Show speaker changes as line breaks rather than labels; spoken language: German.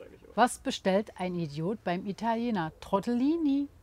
sage ich oft.
Was bestellt ein Idiot beim Italiener? Tortellini.